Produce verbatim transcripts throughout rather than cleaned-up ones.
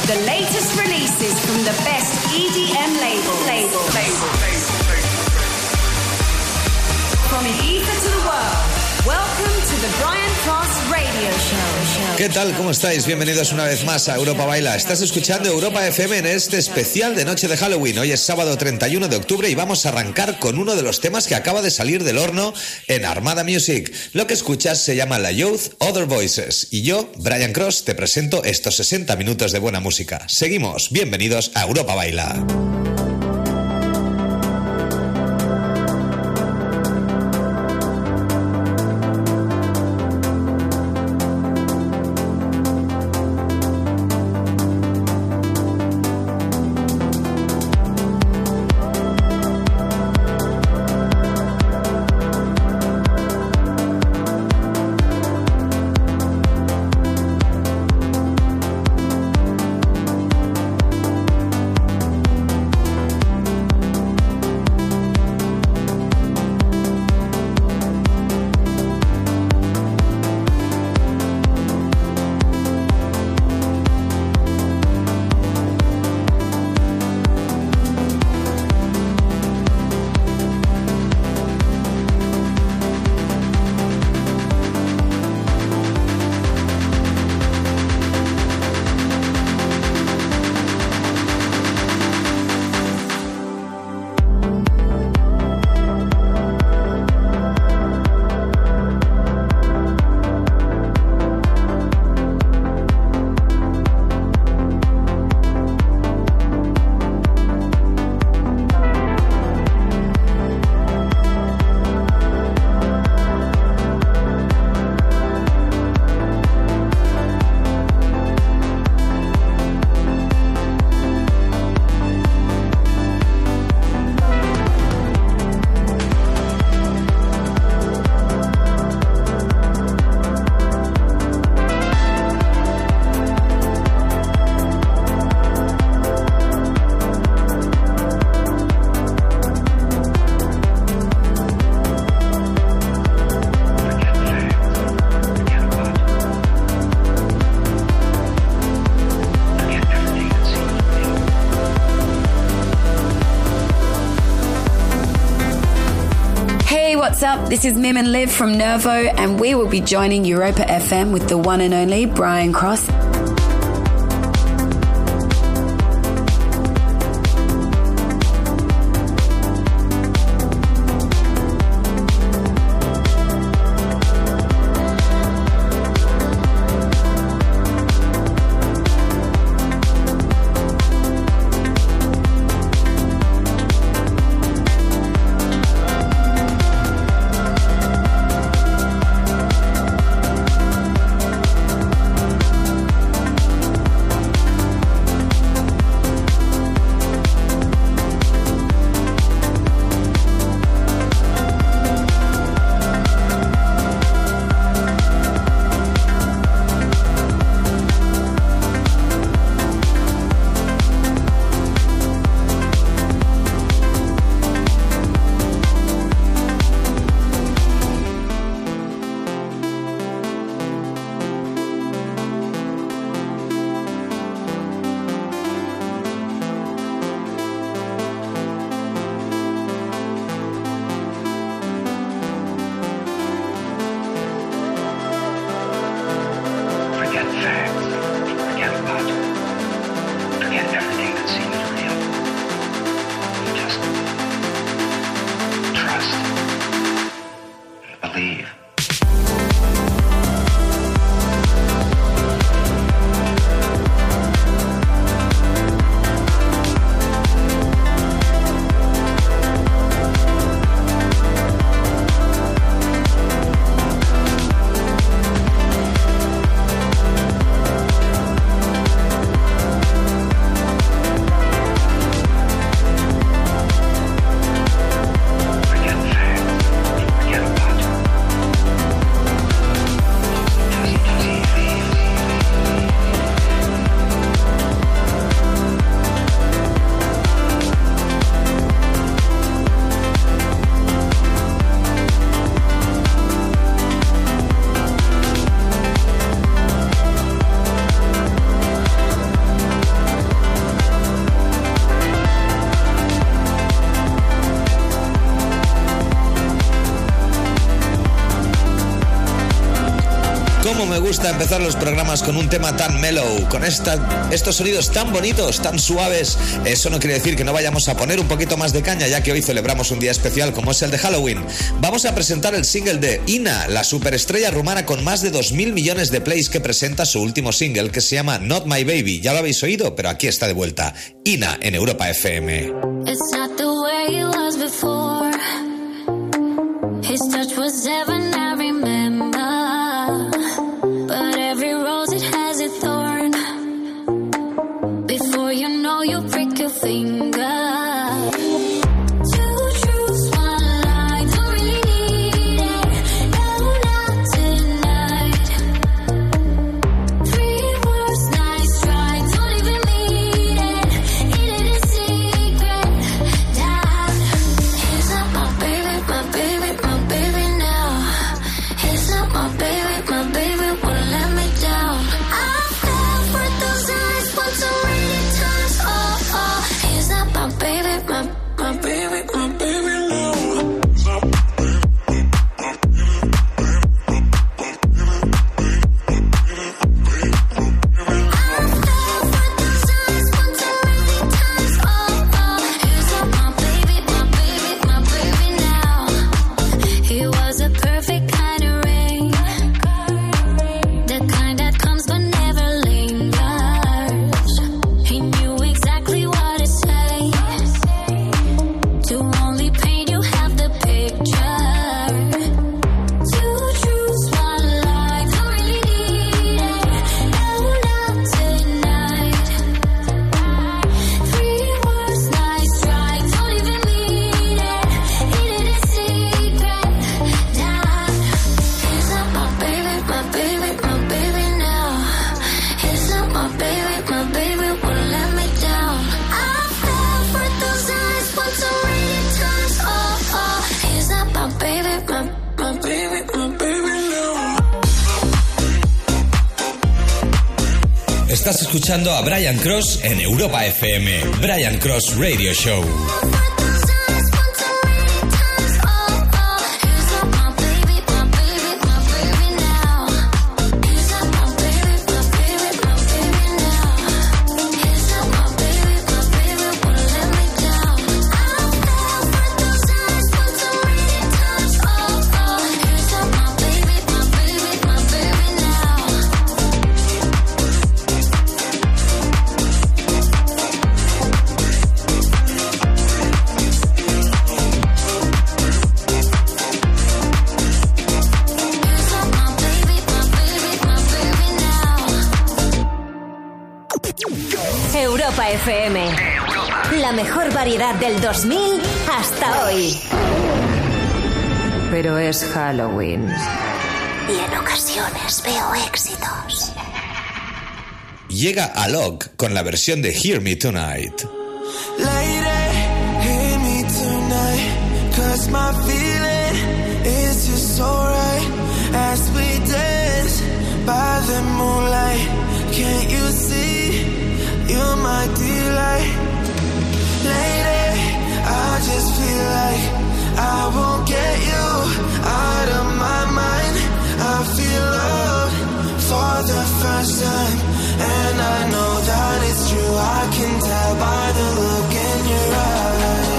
The latest releases from the best E D M label. Label. Label. From Ibiza to the world. Welcome to the Brian Cross Radio Show. ¿Qué tal? ¿Cómo estáis? Bienvenidos una vez más a Europa Baila. Estás escuchando Europa F M en este especial de Noche de Halloween. Hoy es sábado treinta y uno de octubre y vamos a arrancar con uno de los temas que acaba de salir del horno en Armada Music. Lo que escuchas se llama La Youth, Other Voices. Y yo, Brian Cross, te presento estos sesenta minutos de buena música. Seguimos. Bienvenidos a Europa Baila. What's up? This is Mim and Liv from Nervo, and we will be joining Europa F M with the one and only Brian Cross. me gusta empezar los programas con un tema tan mellow, con esta, estos sonidos tan bonitos, tan suaves. Eso no quiere decir que no vayamos a poner un poquito más de caña, ya que hoy celebramos un día especial como es el de Halloween. Vamos a presentar el single de Ina, la superestrella rumana con más de dos mil millones de plays, que presenta su último single que se llama Not My Baby. Ya lo habéis oído, pero aquí está de vuelta. Ina en Europa F M. It's not the way it was before. His touch was heaven, I remember. But every rose, it has a thorn. Before you know, you prick your finger. Estás escuchando a Brian Cross en Europa F M. Brian Cross Radio Show. F M. La mejor variedad del dos mil hasta hoy. Pero es Halloween. Y en ocasiones veo éxitos. Llega Alok con la versión de Hear Me Tonight. Lady, hear me tonight, 'cause my feeling is just alright. As we dance by the moonlight, can't you see? You're my delight. Lady, I just feel like I won't get you out of my mind. I feel love for the first time, and I know that it's true. I can tell by the look in your eyes.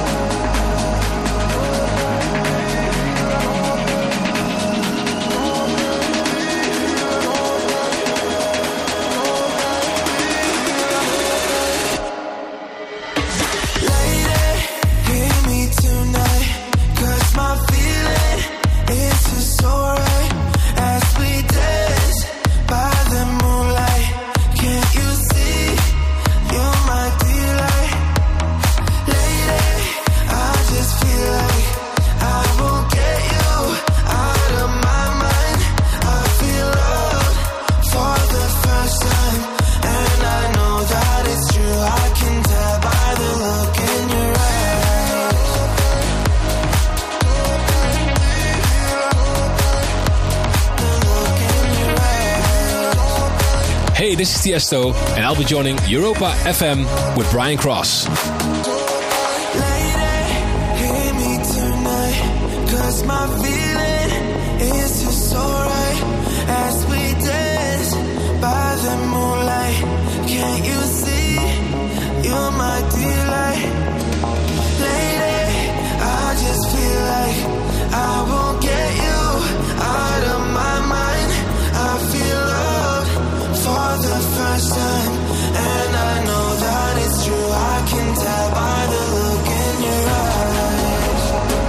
Hey, this is Tiesto, and I'll be joining Europa F M with Brian Cross. Lady, hear me tonight, 'cause my feeling is just alright. As we you're my delight. Lady, I just feel like I won't get you out of my mind. I feel love for the first time, and I know that it's true. I can tell by the look in your eyes.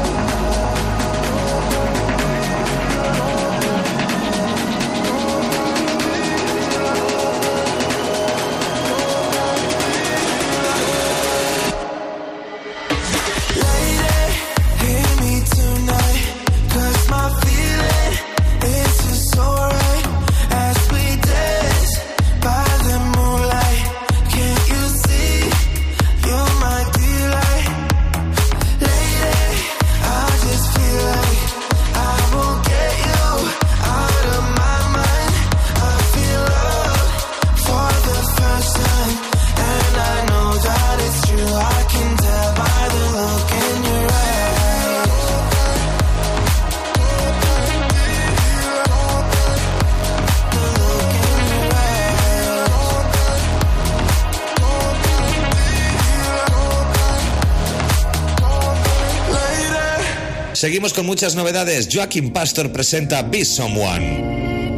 Lady, hear me tonight, 'cause my feeling is just so right. As we dance by the moonlight, can't you see you're my delight? Lady, I just feel like I won't get you out of my mind. I feel love for the first time, and I know that it's true. I can tell by the look in your eyes. The look in your eyes. Lady. Seguimos con muchas novedades. Joaquin Pastor presenta Be Someone.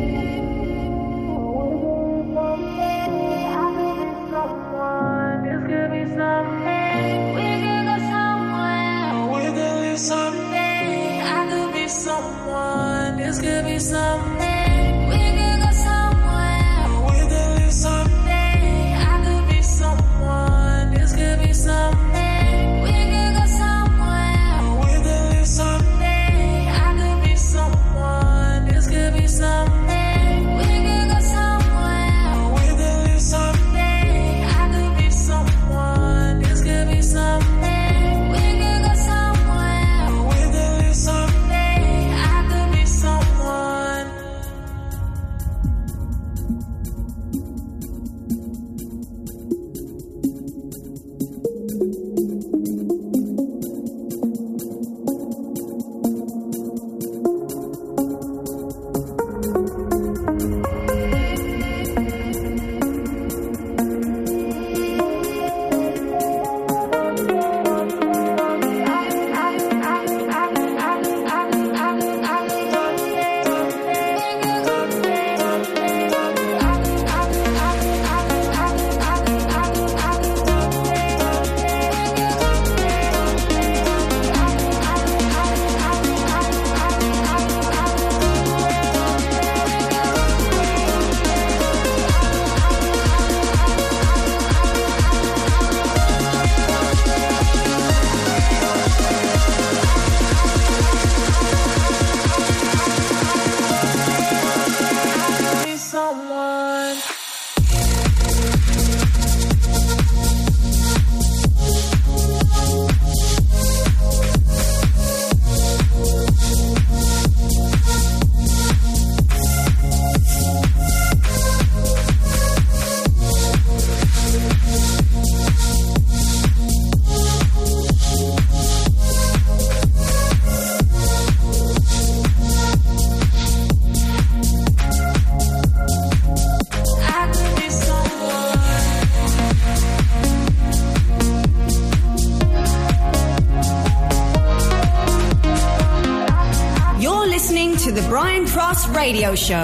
Radio Show.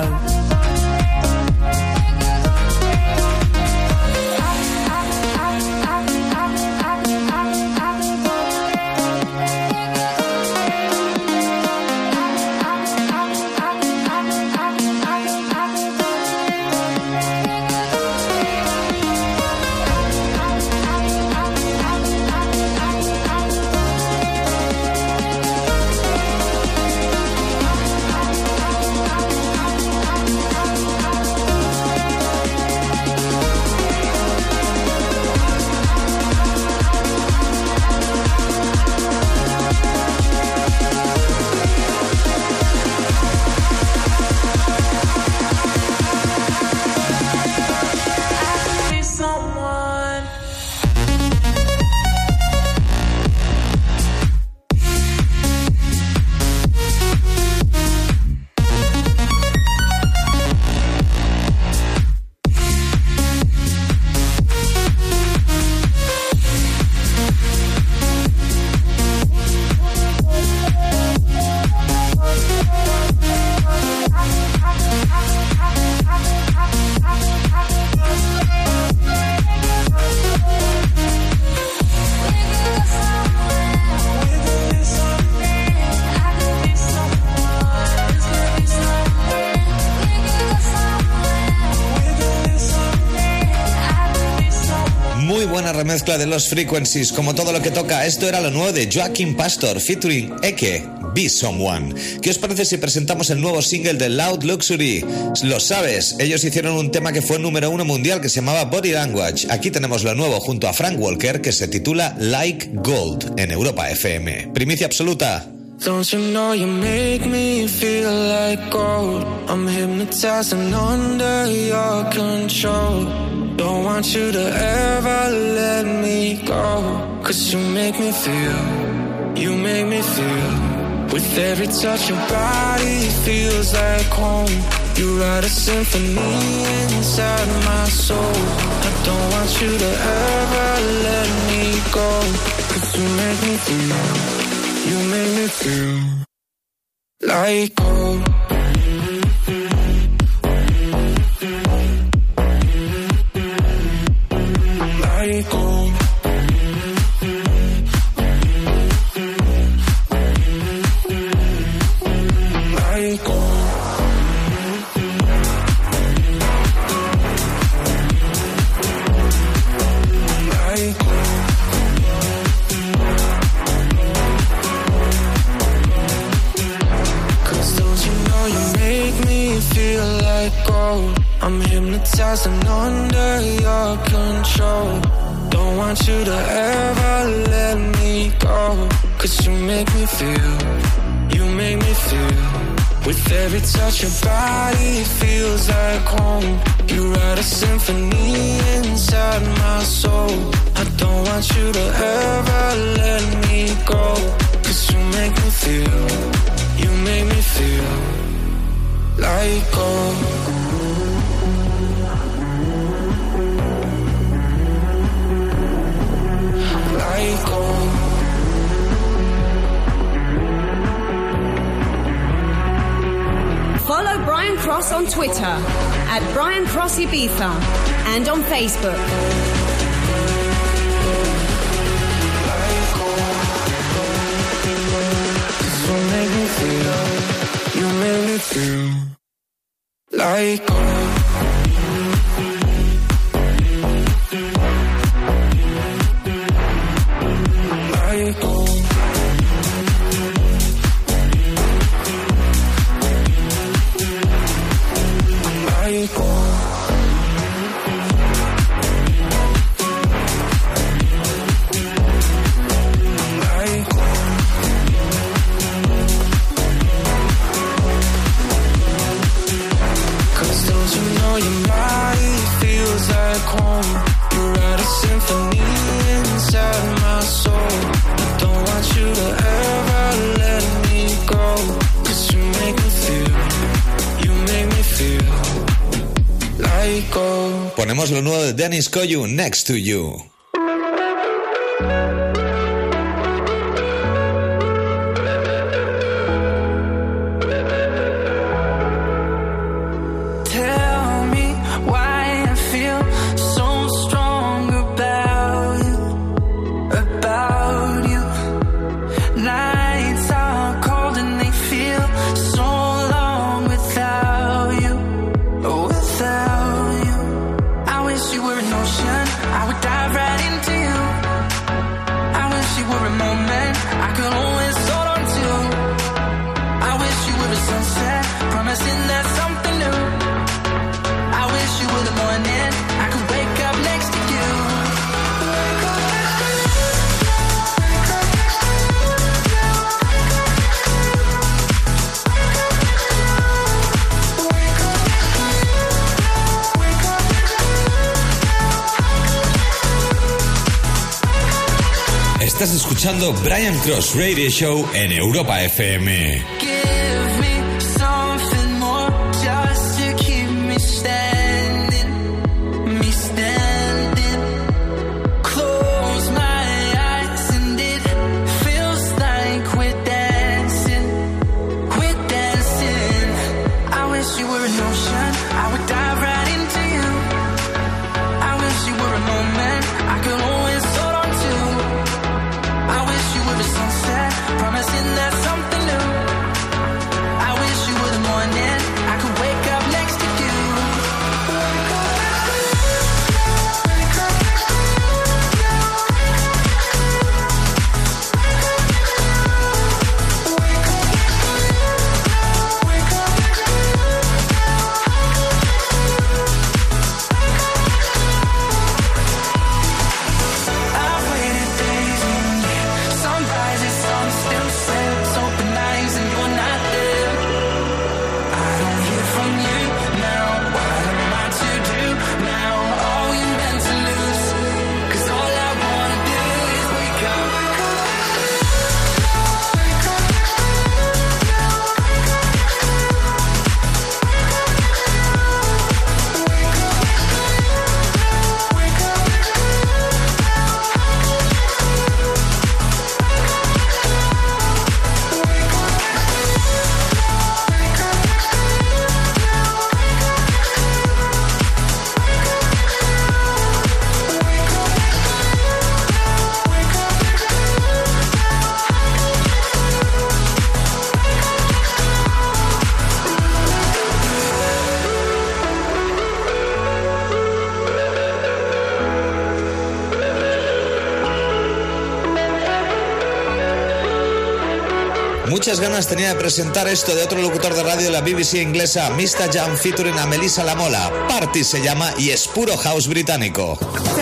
buena remezcla de Lost Frequencies, como todo lo que toca. Esto era lo nuevo de Joaquin Pastor featuring Eke, Be Someone. ¿Qué os parece si presentamos el nuevo single de Loud Luxury? Lo sabes, ellos hicieron un tema que fue número uno mundial que se llamaba Body Language. Aquí tenemos lo nuevo junto a Frank Walker, que se titula Like Gold en Europa F M. Primicia absoluta. Don't you know you make me feel like gold? I'm hypnotized and under your control. Don't want you to ever let me go. Cause you make me feel, you make me feel. With every touch your body feels like home. You write a symphony inside my soul. I don't want you to ever let me go. Cause you make me feel, you make me feel like gold. Like gold. Like gold. Like gold. Feel like gold. I'm hypnotized and under your control. Don't want you to ever let me go. Cause you make me feel, you make me feel. With every touch your body feels like home. You write a symphony inside my soul. I don't want you to ever let me go. Cause you make me feel, you make me feel like gold. Like gold. Follow Brian Cross on Twitter at Brian Cross Ibiza and on Facebook. Like gold. You make me feel, you make me feel like gold. Like gold. Like gold. Your body feels like home. You write a symphony inside my soul. I don't want you to ever let me go. Cause you make me feel, you make me feel like gold. Ponemos lo nuevo de Dennis Koyu, Next to You. Estás escuchando Brian Cross Radio Show en Europa F M. Promising that something new Muchas ganas tenía de presentar esto de otro locutor de radio de la B B C inglesa, mister Jam featuring a Melissa Lamola. Party se llama y es puro house británico.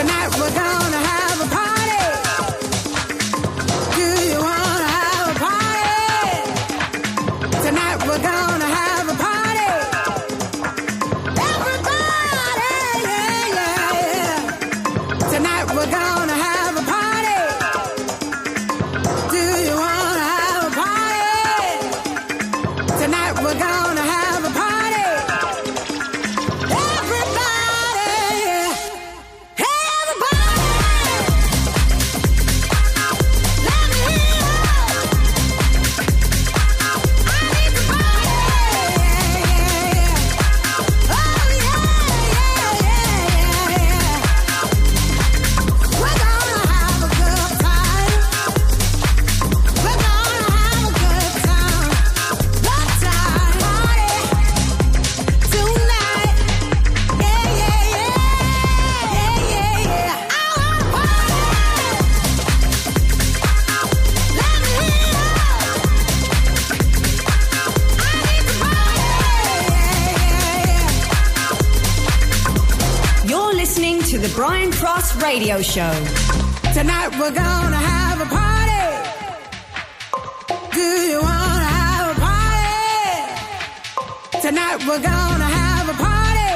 Brian Cross Radio Show. Tonight we're gonna have a party. Do you wanna have a party? Tonight we're gonna have a party.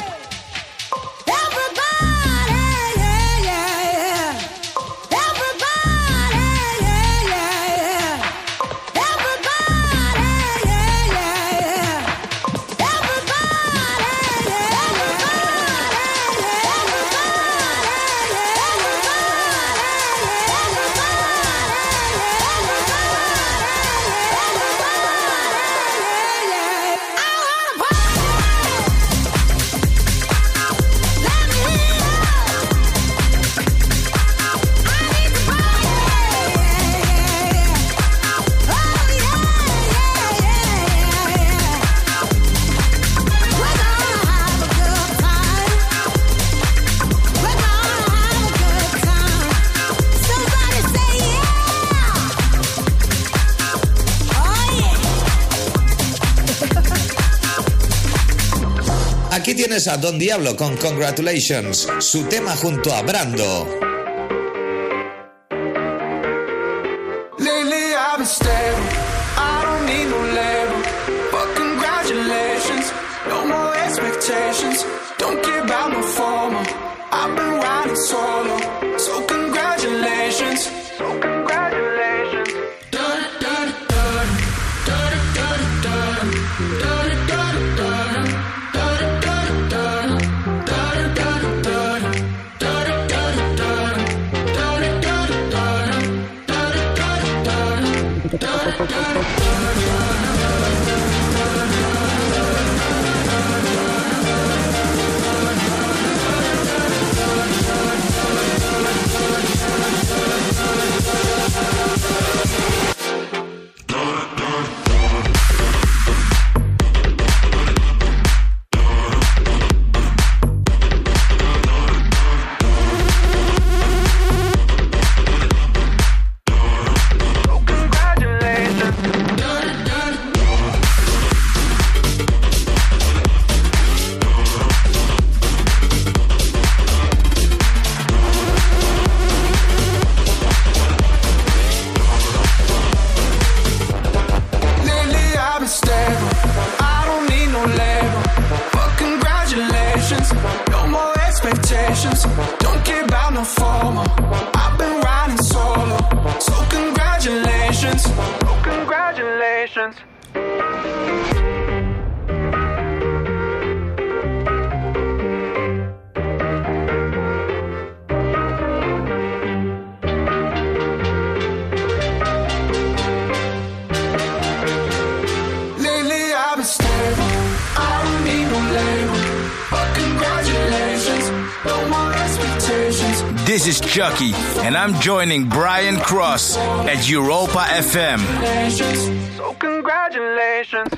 Everybody, yeah, yeah, yeah. Everybody, yeah, yeah, yeah. Everybody, yeah, yeah, yeah. Everybody, yeah, Aquí tienes a Don Diablo con Congratulations, su tema junto a Brando. Lately I've been stable, I don't need no label, but congratulations, no more expectations, don't care about my formal, I've been riding solo, so congratulations, so congratulations. Don't care about no formal, I've been riding solo, so congratulations, oh congratulations. Lately I've been stable, I don't need no label, but congratulations, no more expectations. This is Chucky, and I'm joining Brian Cross at Europa F M. So congratulations.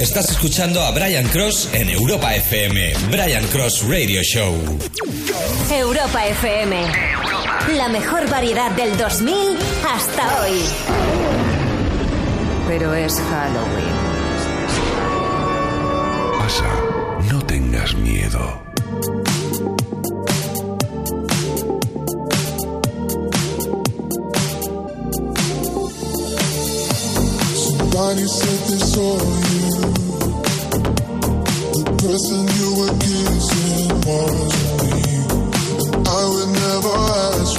Estás escuchando a Brian Cross en Europa F M. Brian Cross Radio Show. Europa F M. La mejor variedad del dos mil hasta hoy. Pero es Halloween. Pasa, no tengas miedo. Somebody said they saw you. The person you were kissing wasn't me. I would never ask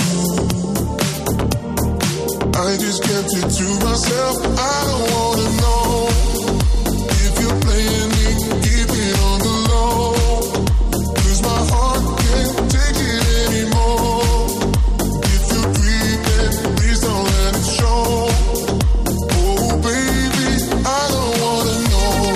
you. I just kept it to myself. I don't wanna know if you're playing me. Keep it on the low. 'Cause my heart can't take it anymore. If you're creeping, please don't let it show. Oh baby, I don't wanna know.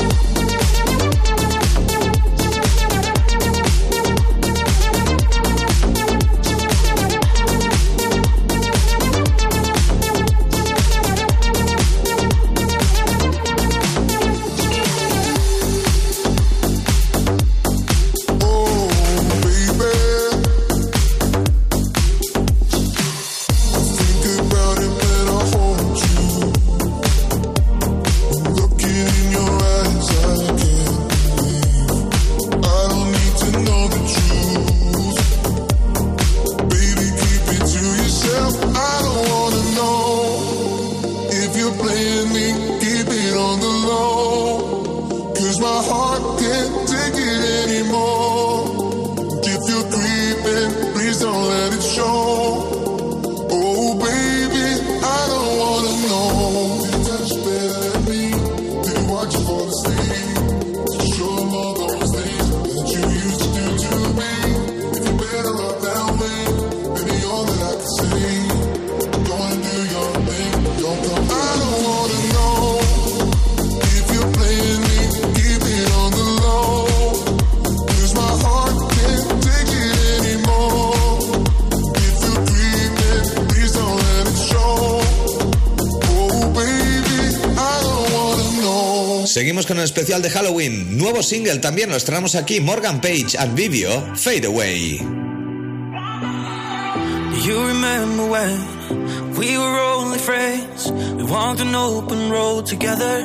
Seguimos con el especial de Halloween. Nuevo single también lo estrenamos aquí. Morgan Page and Vivio, Fade Away. You remember when we were only friends? We walked an open road together.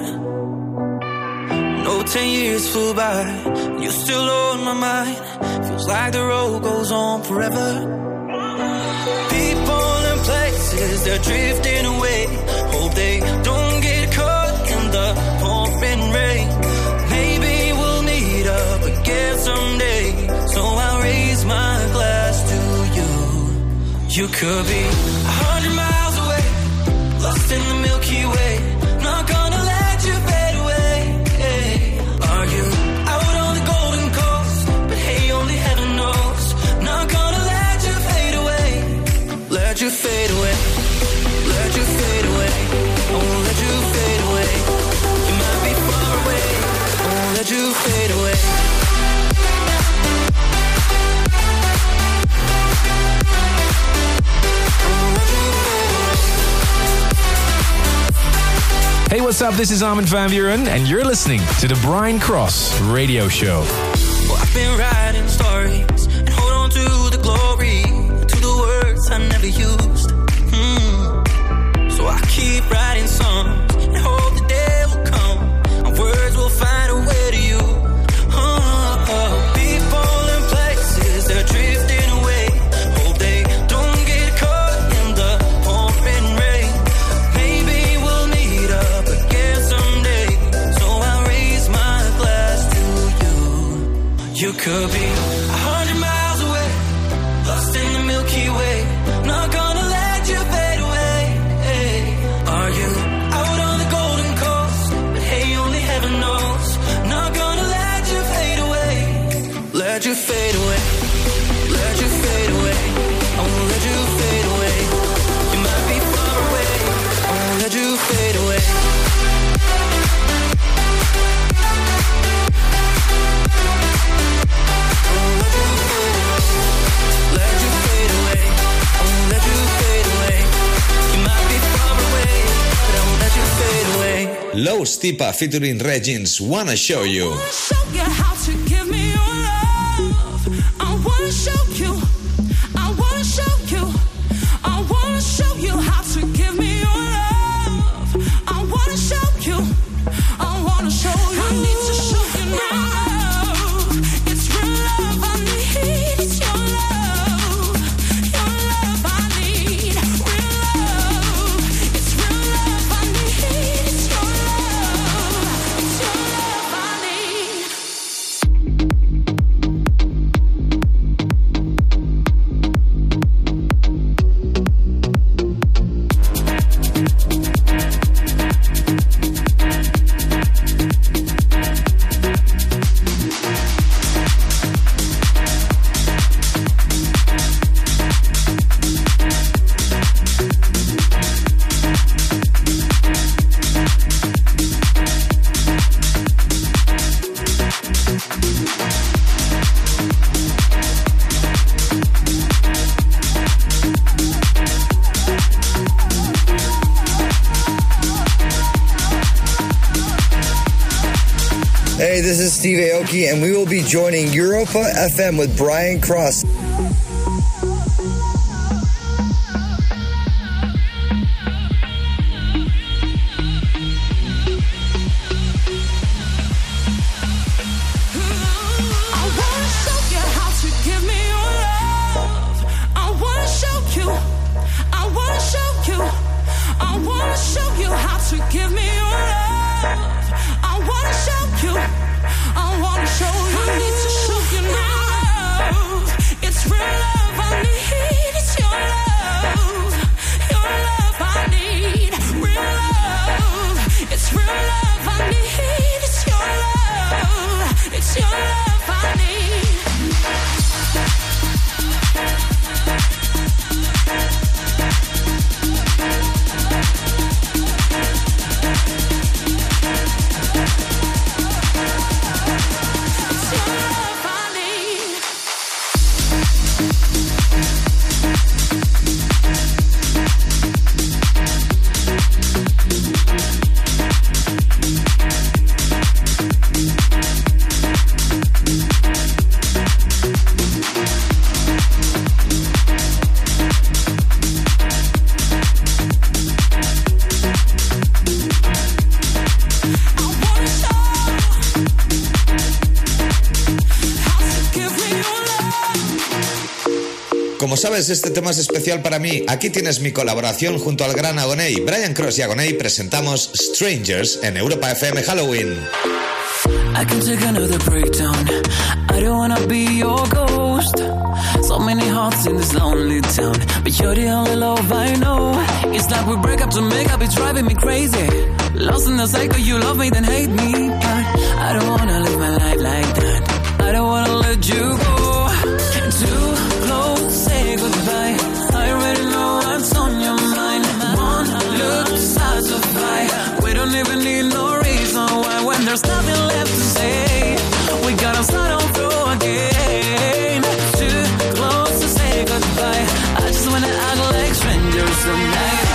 No ten years flew by. You're still on my mind. Feels like the road goes on forever. People and places, they're drifting away. Hope they don't get caught in the pouring rain. Maybe we'll meet up again someday. So I'll raise my glass to you. You could be a hundred miles away, lost in the Milky Way. Not gonna let you fade away. Hey. Are you out on the Golden Coast? But hey, only heaven knows. Not gonna let you fade away. Let you fade away. Let you fade away. Oh, let you fade away. You might be far away. Oh, let you fade away. Hey, what's up? This is Armin van Buuren, and you're listening to the Brian Cross Radio Show. Well, I've been writing stories and hold on to the glory, to the words I never used. Mm. So I keep writing songs and hope the day will come and words will find a way to you. Oh, oh. People and places, they're drifting away. Hope they don't get caught in the pouring rain. Maybe we'll meet up again someday. So I'll raise my glass to you. You could be a hundred miles away, lost in the Milky Way. Not gonna let you fade away. Hey. Are you out on the Golden Coast? But hey, only heaven knows. Not gonna let you fade away. Let you fade away. Let you fade away. Oh, let you fade away. You might be far away. Oh, let you fade away. Low Stipa featuring Regins, Wanna Show You. Hey, this is Steve Aoki, and we will be joining Europa F M with Brian Cross. Como sabes, este tema es especial para mí. Aquí tienes mi colaboración junto al gran Agoney. Brian Cross y Agoney presentamos Strangers en Europa F M Halloween. I can take another breakdown. I don't wanna be your ghost. So many hearts in this lonely town, but you're the only love I know. It's like we break up to make up, it's driving me crazy. Lost in the cycle, you love me, then hate me. But I don't wanna live my life like that. I don't wanna let you go. Too close, say goodbye. I already know what's on your mind. One look to satisfy. We don't even need no reason why. When there's nothing left to say, we gotta start all through again. Too close to say goodbye. I just wanna act like strangers tonight.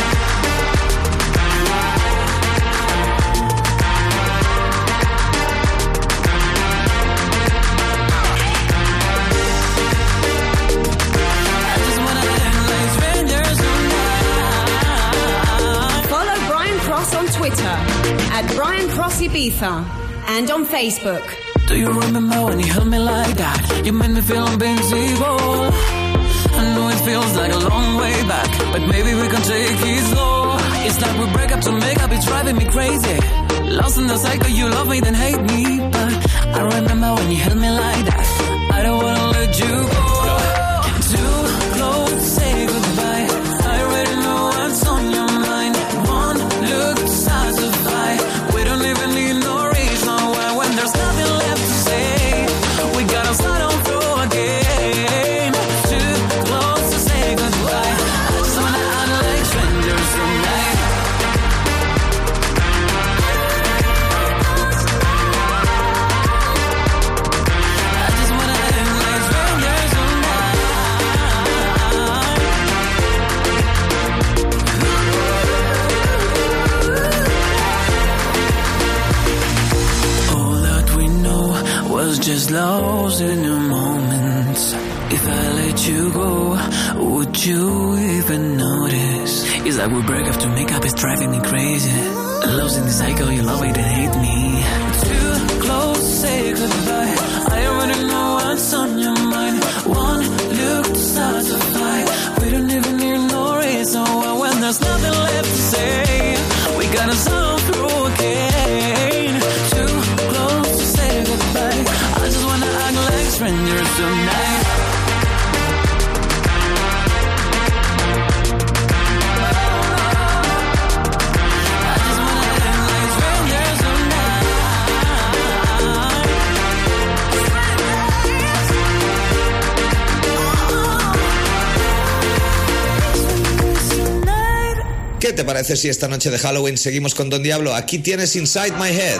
Twitter at Brian Cross Ibiza and on Facebook. Do you remember when you held me like that? You made me feel invincible. I know it feels like a long way back, but maybe we can take it slow. It's like we break up to make up, it's driving me crazy. Lost in the cycle, you love me, then hate me. But I remember when you held me like that. I don't wanna let you go. Too close, say goodbye. I already know what's on your mind. One look to satisfy. We don't even need no reason why. When there's nothing left to say, we gotta start all through again. Too close to say goodbye. I just wanna act like strangers tonight. I just wanna act like strangers tonight. just lost in your moments. If I let you go, would you even notice? It's like we break up to make up, it's driving me crazy. Lost in the cycle, you love it and hate me. Too close to say goodbye. I already know what's on your mind. One look to start to fight. We don't even need no reason why. When there's nothing left to say, we gotta solve through again. Too close to say goodbye. I just wanna act like strangers tonight. ¿Qué te parece si esta noche de Halloween seguimos con Don Diablo? Aquí tienes Inside My Head.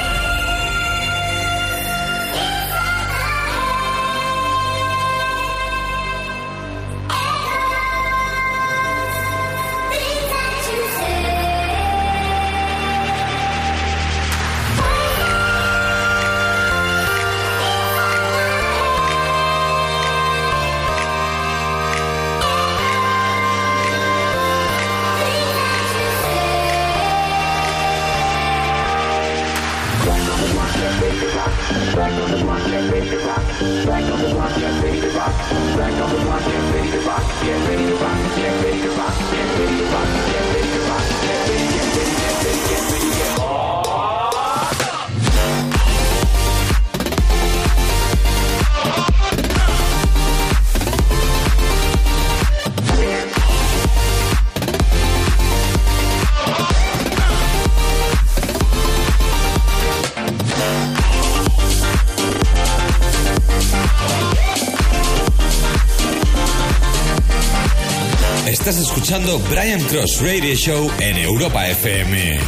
Estás escuchando Brian Cross Radio Show en Europa F M.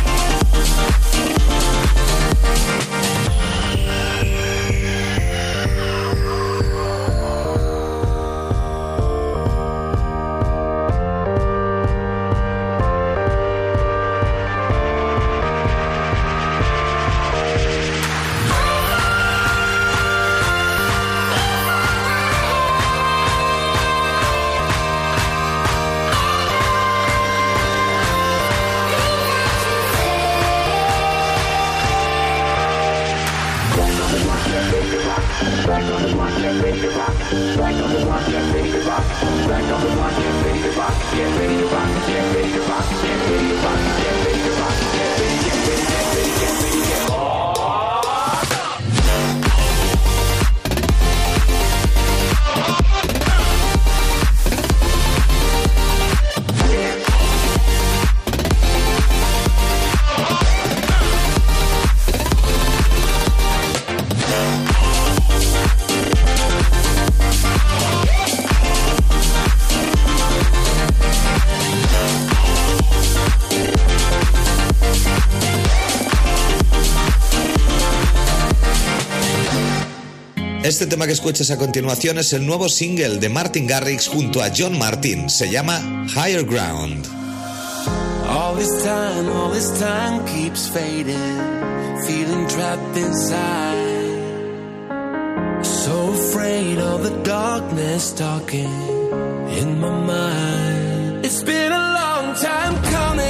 Este tema que escuchas a continuación es el nuevo single de Martin Garrix junto a John Martin. Se llama Higher Ground. All this time, all this time keeps fading, feeling trapped inside. So afraid of the darkness talking in my mind. It's been a long time coming,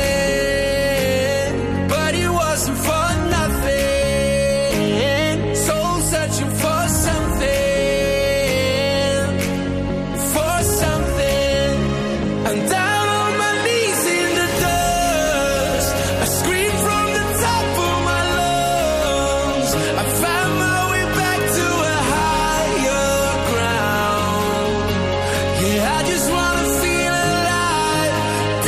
but it wasn't for nothing. Soul searching for something, for something. And down on my knees in the dust, I scream from the top of my lungs. I found my way back to a higher ground. Yeah, I just wanna feel alive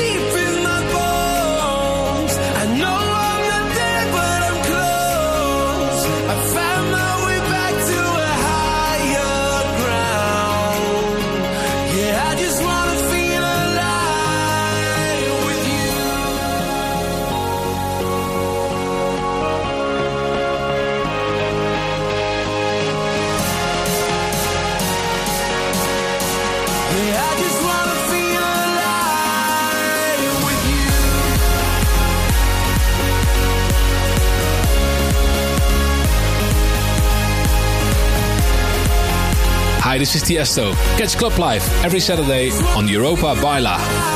Hi, this is Tiesto. Catch Club Live every Saturday on Europa Baila.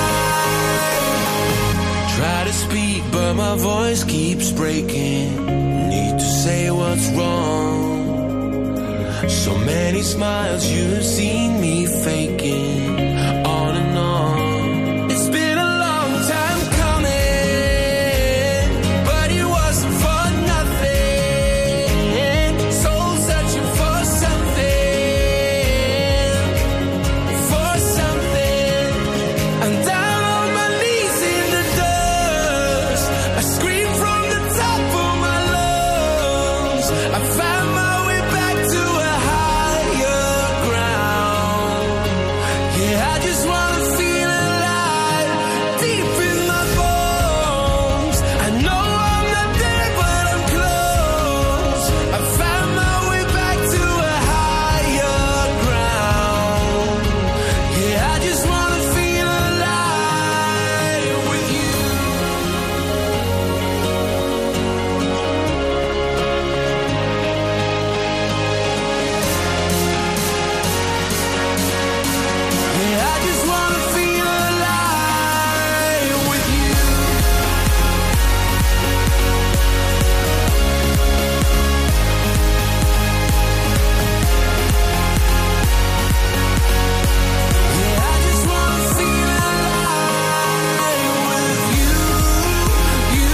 Try to speak, but my voice keeps breaking. Need to say what's wrong. So many smiles you've seen me faking. On and on. It's been a long time coming, but it wasn't for nothing. Soul searching for something, for something. And down on my knees in the dust, I scream from the top of my lungs. I found my way back to a higher ground. Yeah, I just wanna feel alive, deep in my bones. I know I'm not there, but I'm close. I found my way back to a higher ground. Yeah, I just wanna feel alive with you. Yeah, I just wanna feel alive with you. Yeah, I just wanna feel alive with you, you,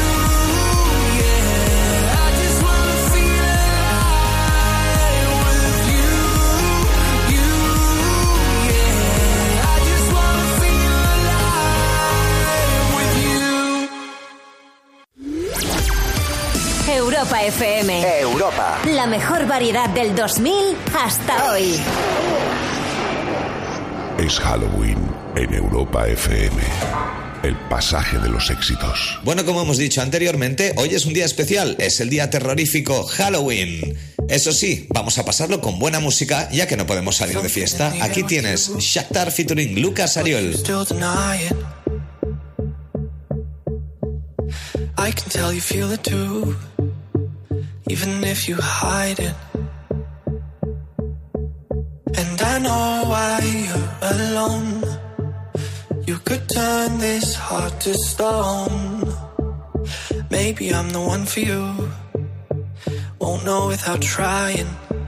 yeah. I just wanna feel alive with you, you, yeah. I just wanna feel alive with you. Europa F M. Europa. La mejor variedad del dos mil hasta hoy. Es Halloween en Europa F M. El pasaje de los éxitos. Bueno, como hemos dicho anteriormente, hoy es un día especial, es el día terrorífico Halloween. Eso sí, vamos a pasarlo con buena música, ya que no podemos salir de fiesta. Aquí tienes Shakhtar featuring Lucas Ariel. Still denying. I can tell you feel it too, even if you hide it. And I know why you're alone. You could turn this heart to stone. Maybe I'm the one for you. Won't know without trying.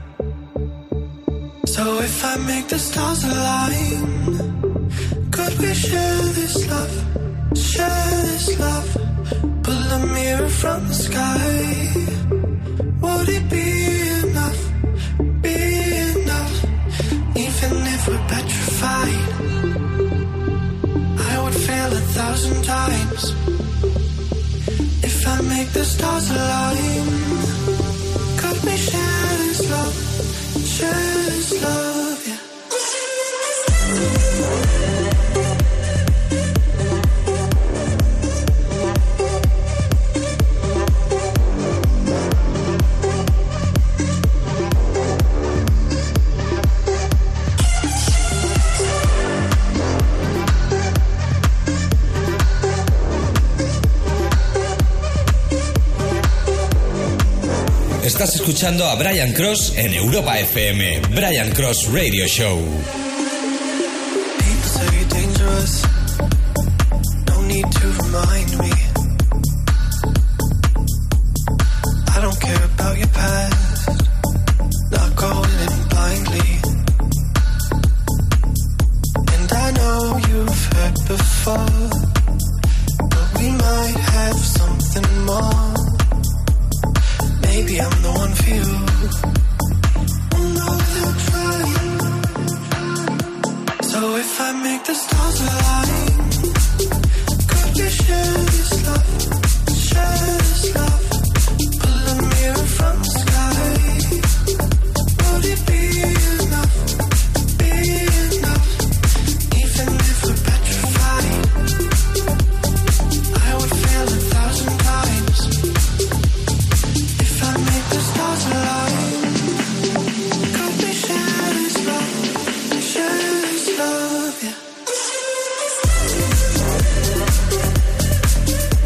So if I make the stars align, could we share this love? Share this love. Pull a mirror from the sky. Would it be enough? Be enough? Even if we're petrified, I would fail a thousand times. If I make the stars align, could we share this love? Share this love, yeah. Estás escuchando a Brian Cross en Europa F M. Brian Cross Radio Show. People say you're dangerous. No need to remind me. I don't care about your past. Not going in blindly. And I know you've hurt before, but we might have something more. Maybe I'm the one for you. We'll know without trying. So if I make the stars align, could we share this love? Share this love. Pull a mirror from the sky. Would it be enough? Be enough? Even if we're petrified, I would fail a thousand times. If I make the stars align, could we share this love? Share this love, yeah.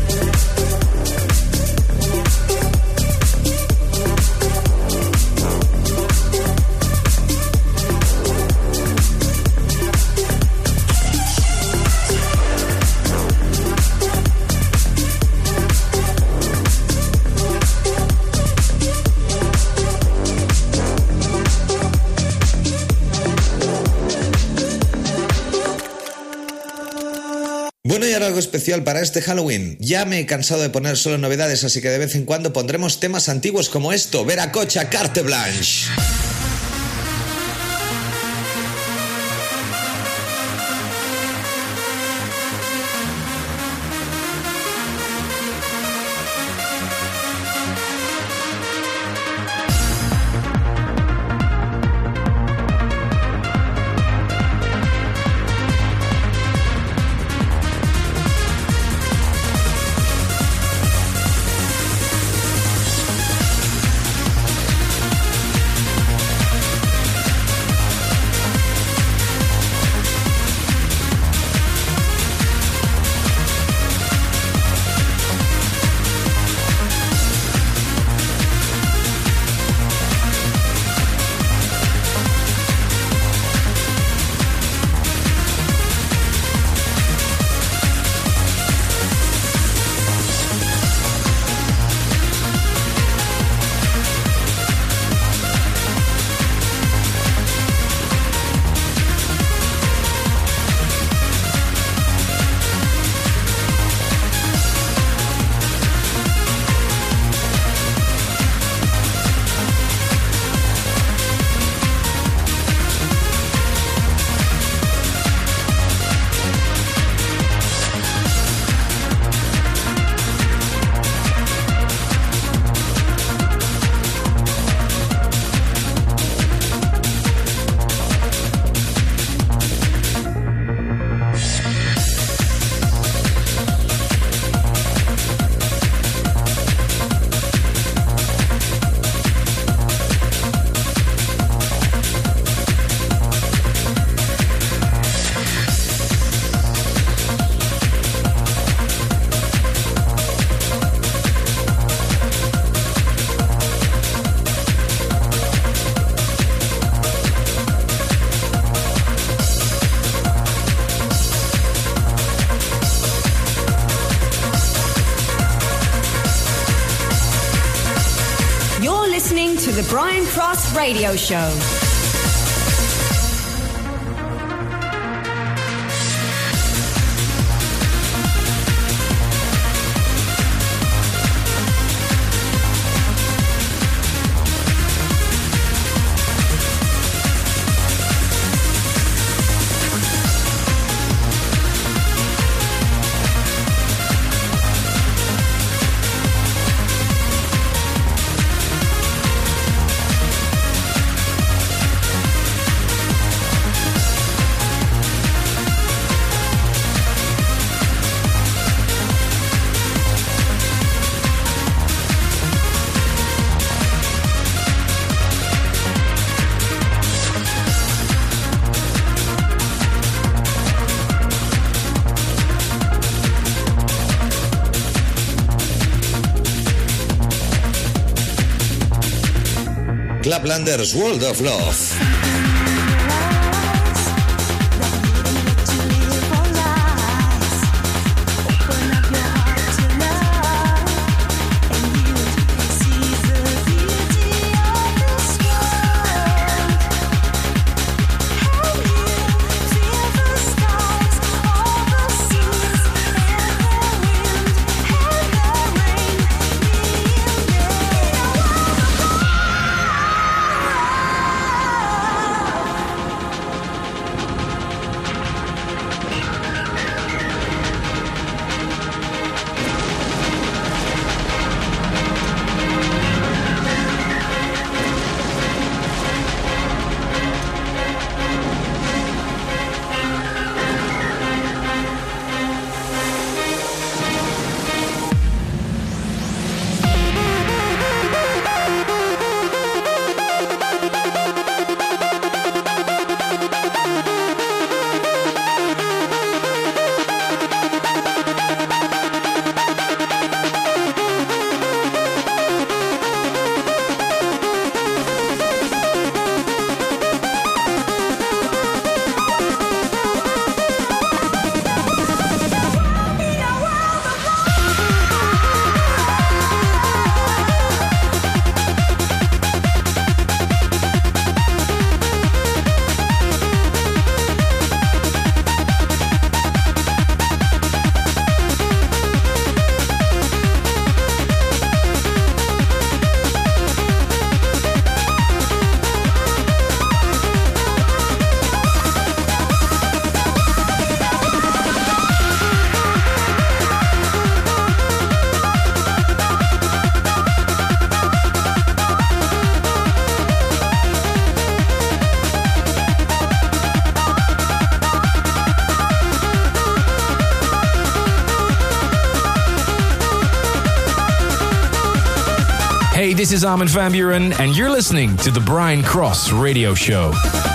algo especial para este Halloween. Ya me he cansado de poner solo novedades, así que de vez en cuando pondremos temas antiguos como esto, Veracocha, Carte Blanche. To the Brian Cross Radio Show. Laplander's World of Love. Hey, this is Armin van Buuren, and you're listening to the Brian Cross Radio Show.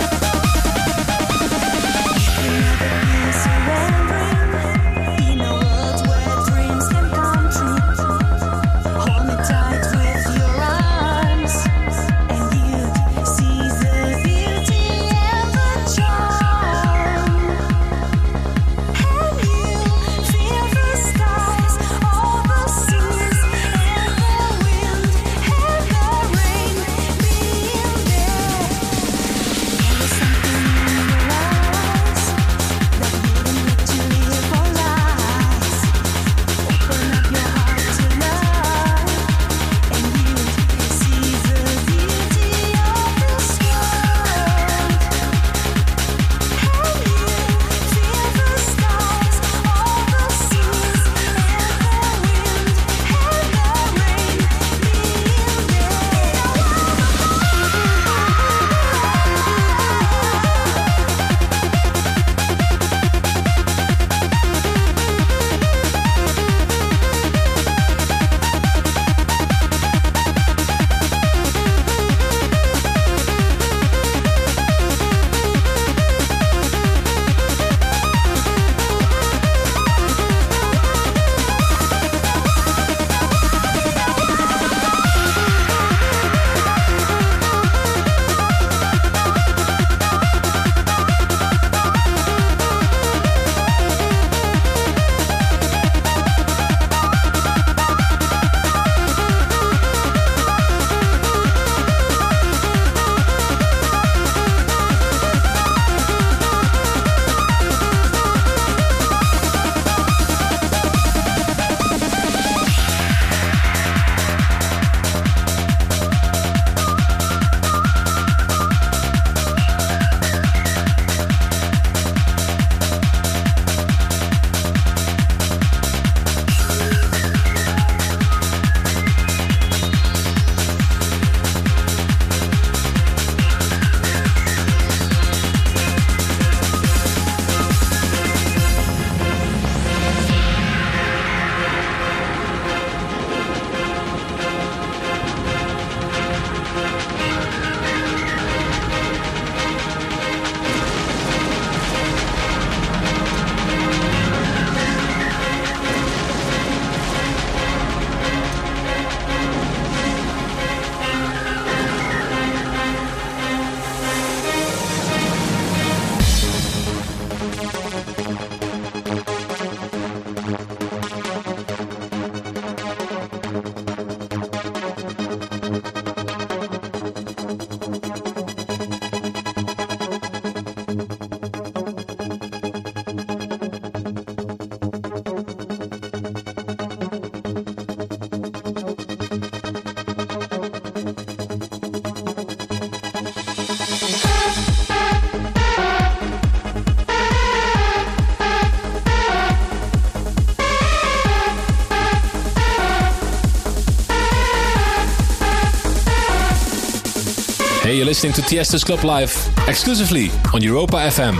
Hey, you're listening to Tiesto's Club Live, exclusively on Europa F M.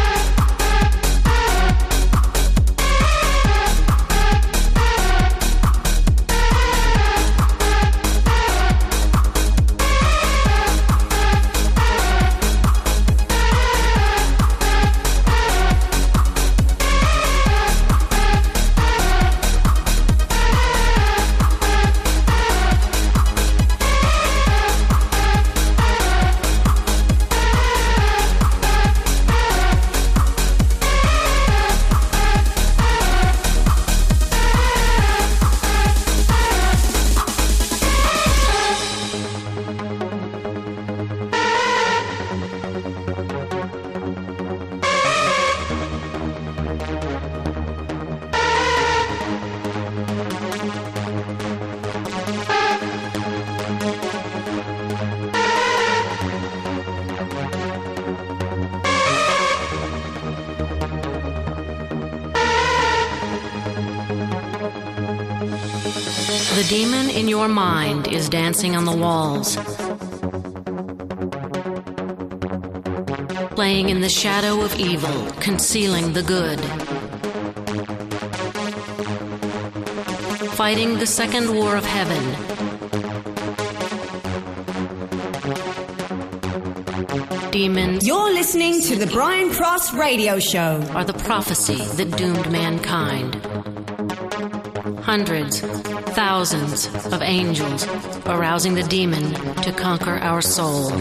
The demon in your mind is dancing on the walls, playing in the shadow of evil, concealing the good, fighting the second war of heaven, demons. You're listening to the Brian Cross Radio Show. Are the prophecy that doomed mankind. Hundreds, thousands of angels arousing the demon to conquer our soul.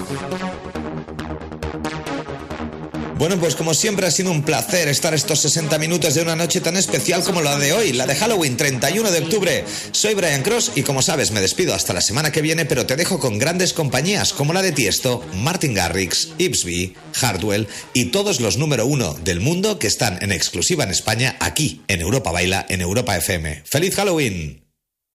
Bueno, pues como siempre ha sido un placer estar estos sesenta minutos de una noche tan especial como la de hoy, la de Halloween, treinta y uno de octubre. Soy Brian Cross y como sabes me despido hasta la semana que viene, pero te dejo con grandes compañías como la de Tiesto, Martin Garrix, Ipsby, Hardwell y todos los número uno del mundo que están en exclusiva en España aquí en Europa Baila, en Europa F M. ¡Feliz Halloween!